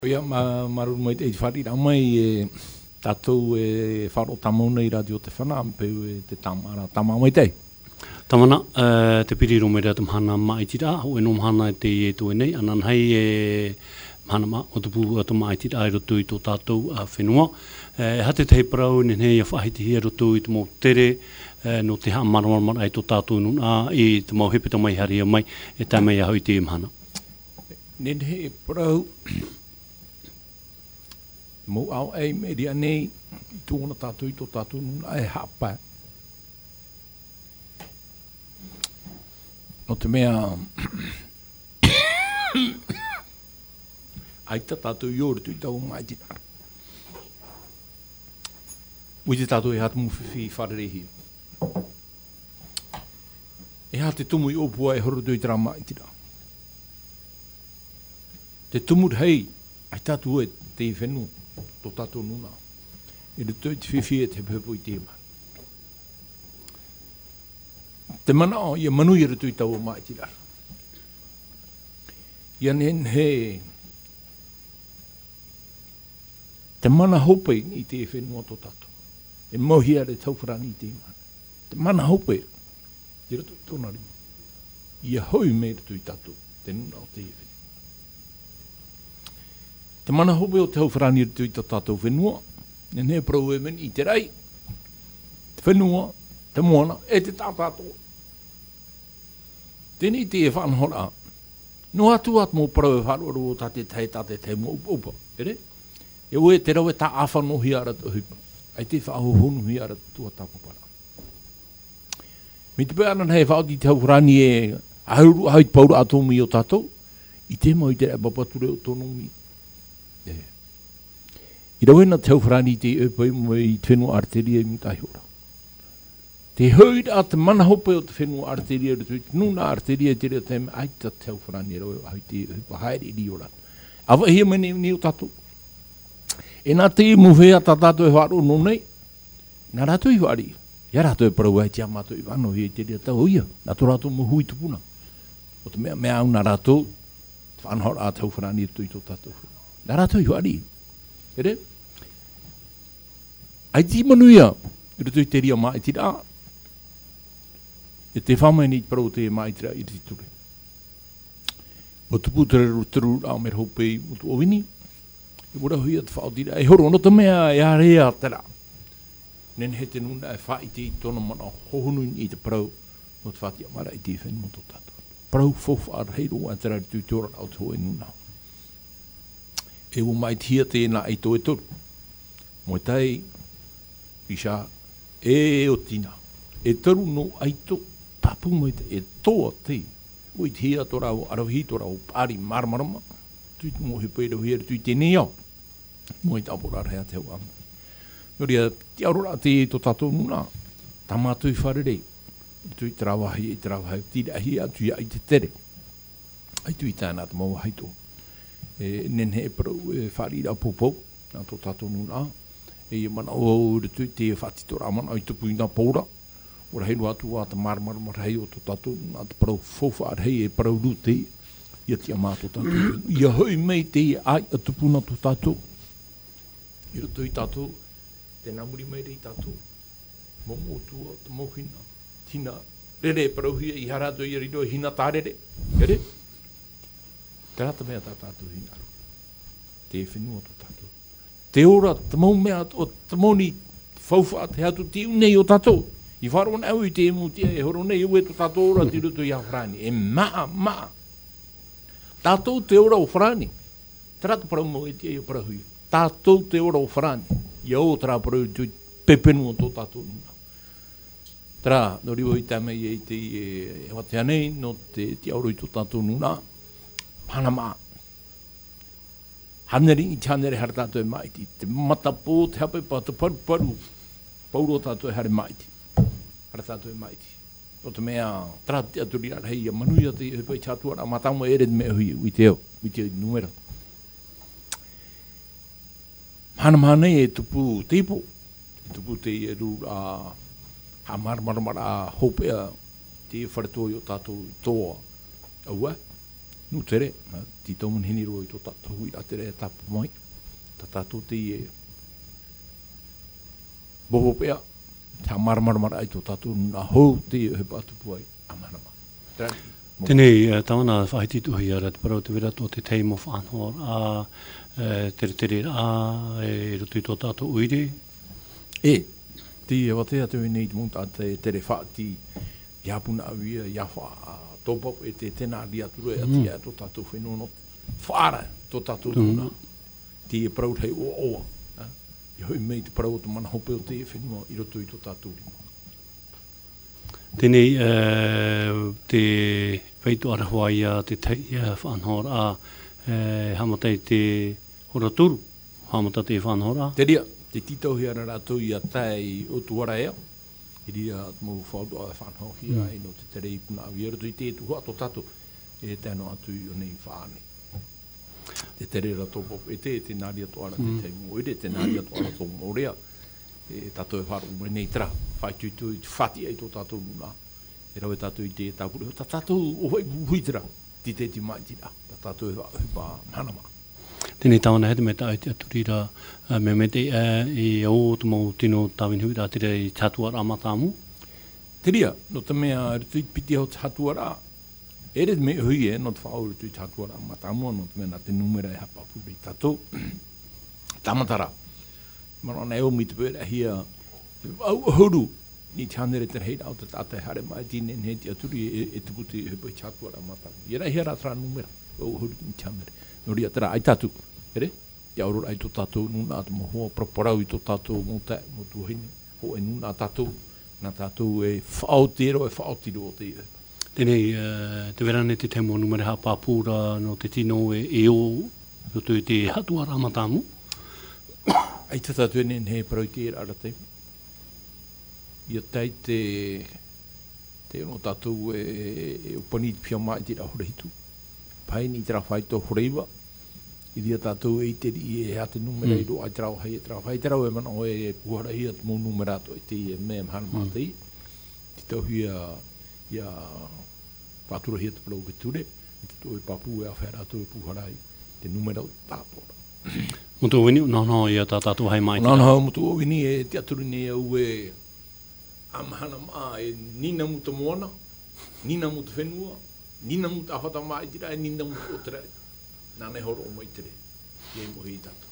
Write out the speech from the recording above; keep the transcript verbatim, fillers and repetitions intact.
Ia ma maru mai te whari rā mai e tātou e wharo tamona i radio te whana peu e te tamara tama mai te. Tamana, uh, te piri rome rea te mhana mai tira, ho e no mhana e te e tu e nei, anan hei e mhana ma o te pū atu mai tira e roto i tō tātou a whenua. E hate te hei parau ni hei a whahiti hi e roto i te mō tere, uh, no te haa maramarama ai tō tātou nuna, i te mō hepeta mai haria mai, e tā mai a hoi te mhana. Nen hei parau, mō au ei me ria nei, i tōna tātou i tō tātou nuna e hapa. No te mea, ai ta tātou i ore tu i tau mai tina. Ui te tātou e hatu muwhiwhi i wharerehi. E ha te tumu i opua e horo tu i tera mai tina. Te tumu hei, ai tātou e te i whenua. Tō tātou nuna. E re tui te whiwhi e te pēpo i te mai. Te mana o, ia manu i re tui tau o mai tira. Ia nen he te mana hope i te whenua tō tātou. E mohi are tau wharani i te mai. Te mana hope i re tui tōna rima. Ia hoi me re tui tātou. Te nuna o te whenua. Te mana hope o te hauwharani ritu i tā tātou whenua, ne ne prau e meni i te rei, te whenua, te moana, e te tā tātou. Tēnei te e whanhora, no atu at mō prau e whanoro o tate tei tate te mō upa, ere? E oe te rau e tā awhano hi ara tu hupa, ai te whahohonu hi ara tua tāpapara. Mi te pēanan hei whaoti te hauwharani e hauru hait paura atomi o tātou, i te mo i te apapature o tono mi. Yeah. I rawena te hauwharani te epai mo i te whenua arteria i mutai hora. Te hauid a te mana hope o te whenua arteria i te nuna arteria i te rea teime aita te hauwharani rawe au te hupa haere i ora. Awa hia mene ni o tātou. E nā te muwhea tā tātou e wharo no nei, nā rātou i whari. Ia rātou e parau ai te amatou i wano hia i te rea tau ia. Nā tō rātou mo hui tupuna. O te mea mea au nā rātou, te whanhora a te hauwharani i tō tātou. Nā rātou i wari. Ere? Ai ti manuia, i rutu i te ria mai tira. E te whamai ni parau te mai tira i te ture. O te pūtere ruturu rao me hopei o tu ovini. I wara hui at whao tira. E horo, no te mea e area tera. Nen he te nuna e wha i te tona mana hohonu i te parau. No te whatia mara i te whenua tō tātou. Parau fofa ar heiro a tera tu tōra au tō e nuna. E o mai tia tēnā i tō e toru. Mo tei, pisha, e o tina. E toru no aito, papu mo te, e toa te. O i tia tō rau, arawhi tō rau, pāri marmarama. Tui te mohi pēra huere, tui tēnei au. Mo i tāpura rea te hau amu. Noria, te aurora te e tō tātou nuna. Tamātui wharerei. Tui te rawahi, e te rawahi, tira hi atu ia i te tere. Ai tui tāna te mau haito. E nen he parau e whari rau popou, nā tō tātou nuna. E mana o ritu te whati tō rāmana, i tupu i nā pōra. Ora hei atu a te marmara marhei o tō tātou, nā te parau fofa arhei e parau rute, i ati a mā tō tātou. Ia hoi mei te ai a tupu nā tō tātou. I roto i tātou, te namuri mei rei tātou. Mō mōtua, te mōhina, tina, rere parau hia i harato i riro hina tārere. Ere? Te rata mea tā tātou hinaru. Te whenua tō tātou. Te ora, te mau mea, o te mauni whauwha, te hatu te unei o tātou. I wharo nau i te emu tia, e horo nei ue tō tātou ora te ruto i a whrani. E maa, maa. Tātou te ora o whrani. Te rata parau mo e tia i o parahui. Tātou te ora o whrani. Ia o tera parau tu pepenu o tō tātou nuna. Tera, no riwo i tāmei e te e wate anei, no te te auro i tō tātou nuna. Panama. Haneri i chanere har tātou e maiti. Te matapō te hape pa te paru paru. Pauro tātou e hare maiti. Har tātou e maiti. O te mea trate aturi ar hei a manuia te hepai chatua ra matamo ere me hui ui te eo. Ui te numera. Hanama nei e tupu teipo. E tupu te e ru a ha marmaramara hopea te wharetoi o tātou toa. Aua. Nu tere, ti tau mun hini roi tō tātou hui a tere e tapu mai. Tā tātou te i e boho pea, tā maramaramara ai tō tātou nā hou te i e he pātu puai a manama. Tēnei, tāwana whahitituhi ara te parau te wera tō te teimo whanhor a tere tere a e rotu i tō tātou uire. E, te e watea te nei te monta te tere whaati iapuna awia, iawha a tōpop e te tēnā ria turu e ati a tō tātou whenua no whaara tō tātou tūna. Te e parau hei oa oa. I hoi mei te parau o te mana hope o te e whenua i rotu i tō tātou rima. Tēnei, te whaitu arahua ia te teia whanhor a hamatai te horaturu, hamata te whanhor a. Te ria, te titauhi ara rātou i a tai o tuara ea, i ria mō whaudu a whanhor hia e no te terei puna awi rotu i te tuha tō tātou e tēnā atu i o nei whaane. Te tere rato pop e te, te nāria toara te teimu oire, te nāria toara tō mōrea, e tātou e wharu mō nei tera, whai tui tui, whati ai tō tātou nuna. E rau e tātou i te tāpura, tā tātou o hoi hui tera, ti te ti mai tira, tā tātou e wha manama. Tēnei tāwana hete me tā te aturira me me te e o te mau tino tāwin hui rā tere i tātuara amatāmu? Te ria, no te mea ritu i piti hau tātuara, e re me hui e, no te whaau ritu i tātuara amatāmu, no te mea te numera e hapa puri tātou, tamatara. Mana nei o mi te pēra hia, au huru, ni te hanere te reira au te tātai hare mai tine ne te aturi e, e te puti e pai chatuara matamu. I rai hera tra numera, au huru ni te hanere. No ria tera ai tātu, ere? Te aurora ai tō tātou nuna atu mo hoa proporau i tō tātou mō te, mō tuahine, ho e nuna tātou, nā tātou e whaotero e whaotiro o te i. Tēnei, te verane te temo numere ha pāpūra no te tino e e o, roto i te hatuara amatāmu? Ai te tātou e he parau te era ara te. Ia tei te te ono tātou e, e upani pia mai te rahore hitu. Pai ni te rawhai tō horeiwa. I ria tātou e i te ri e hea te numera i ro ai te rauhai e te rauhai. Te rau e mana o e puhara hia te mō numera to i te i e mea mhana mātei. Te tau hia ia whātura hia te parau ke ture. I te tō e papu e a whera tō e puhara i te numera o tātora. Mutu o wini, nā nā ia tā tātou hei mai tira? Nā nā mutu o wini e te aturi ne au e amahana maa e nina muta moana, nina muta whenua, nina muta ahota mai tira e nina muta o tere. Nā nei horo o mai tere, i e mohi i tātou.